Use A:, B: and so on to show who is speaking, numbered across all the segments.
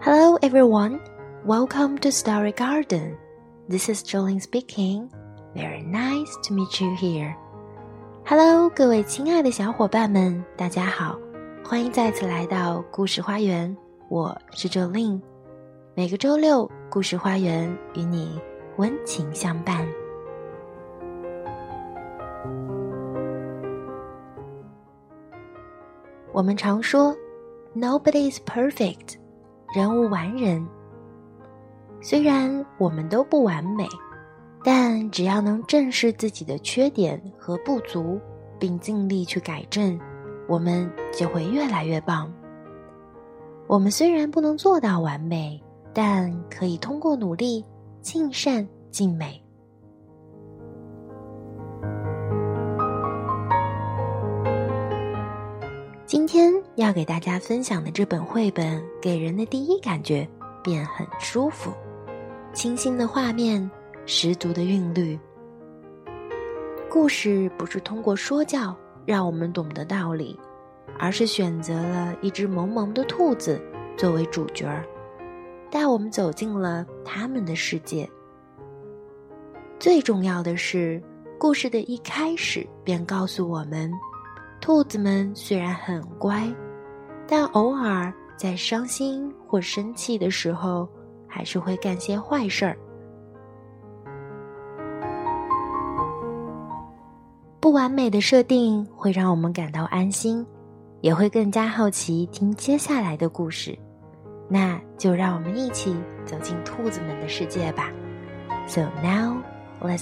A: Hello everyone, welcome to Story Garden. This is Jolene speaking. Very nice to meet you here. Hello, 各位亲爱的小伙伴们，大家好，欢迎再次来到故事花园，我是 Jolene。每个周六，故事花园与你温情相伴。我们常说 Nobody is perfect， 人无完人。虽然我们都不完美，但只要能正视自己的缺点和不足，并尽力去改正，我们就会越来越棒。我们虽然不能做到完美，但可以通过努力尽善尽美。今天要给大家分享的这本绘本，给人的第一感觉便很舒服，清新的画面，十足的韵律。故事不是通过说教让我们懂得道理，而是选择了一只萌萌的兔子作为主角，带我们走进了他们的世界。最重要的是，故事的一开始便告诉我们，兔子们虽然很乖，但偶尔在伤心或生气的时候，还是会干些坏事儿。不完美的设定会让我们感到安心，也会更加好奇听接下来的故事。那就让我们一起走进兔子们的世界吧。So now, let's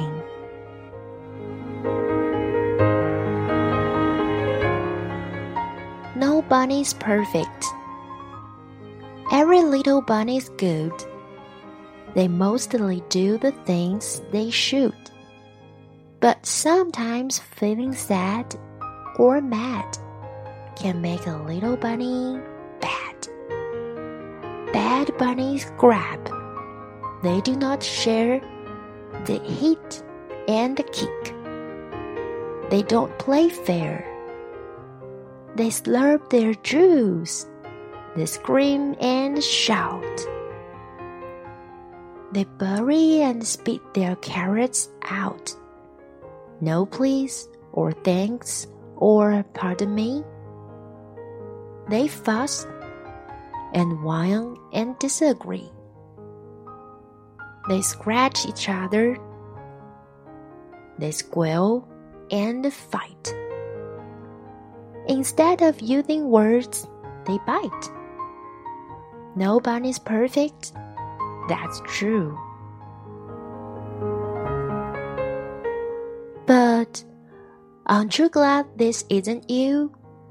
A: begin.No bunny's perfect. Every little bunny's good. They mostly do the things they should. But sometimes feeling sad or mad can make a little bunny bad. Bad bunnies grab. They do not share. They hit and kick. They don't play fair.They slurp their juice. They scream and shout. They bury and spit their carrots out. No please, or thanks, or pardon me. They fuss and whine and disagree. They scratch each other. They squeal and fight.Instead of using words, they bite. No bunny's perfect, that's true. But aren't you glad this isn't you?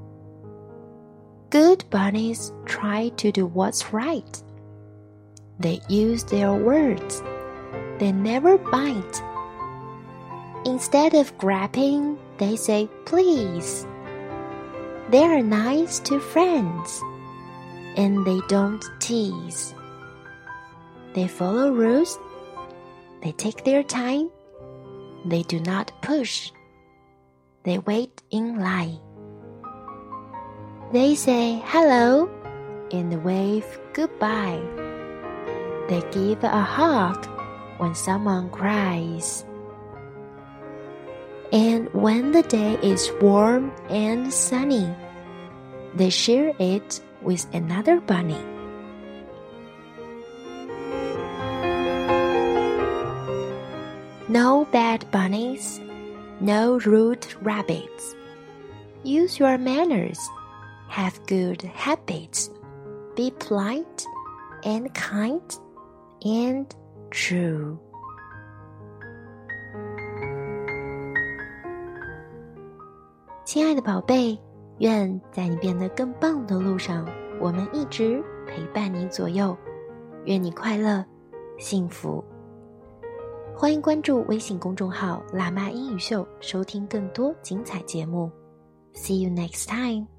A: Good bunnies try to do what's right. They use their words. They never bite. Instead of grabbing, they say please.They are nice to friends, and they don't tease. They follow rules. They take their time. They do not push. They wait in line. They say hello and wave goodbye. They give a hug when someone cries.And when the day is warm and sunny, they share it with another bunny. No bad bunnies, no rude rabbits. Use your manners, have good habits, be polite and kind and true.亲爱的宝贝，愿在你变得更棒的路上，我们一直陪伴你左右。愿你快乐、幸福。欢迎关注微信公众号“辣妈英语秀”，收听更多精彩节目。See you next time.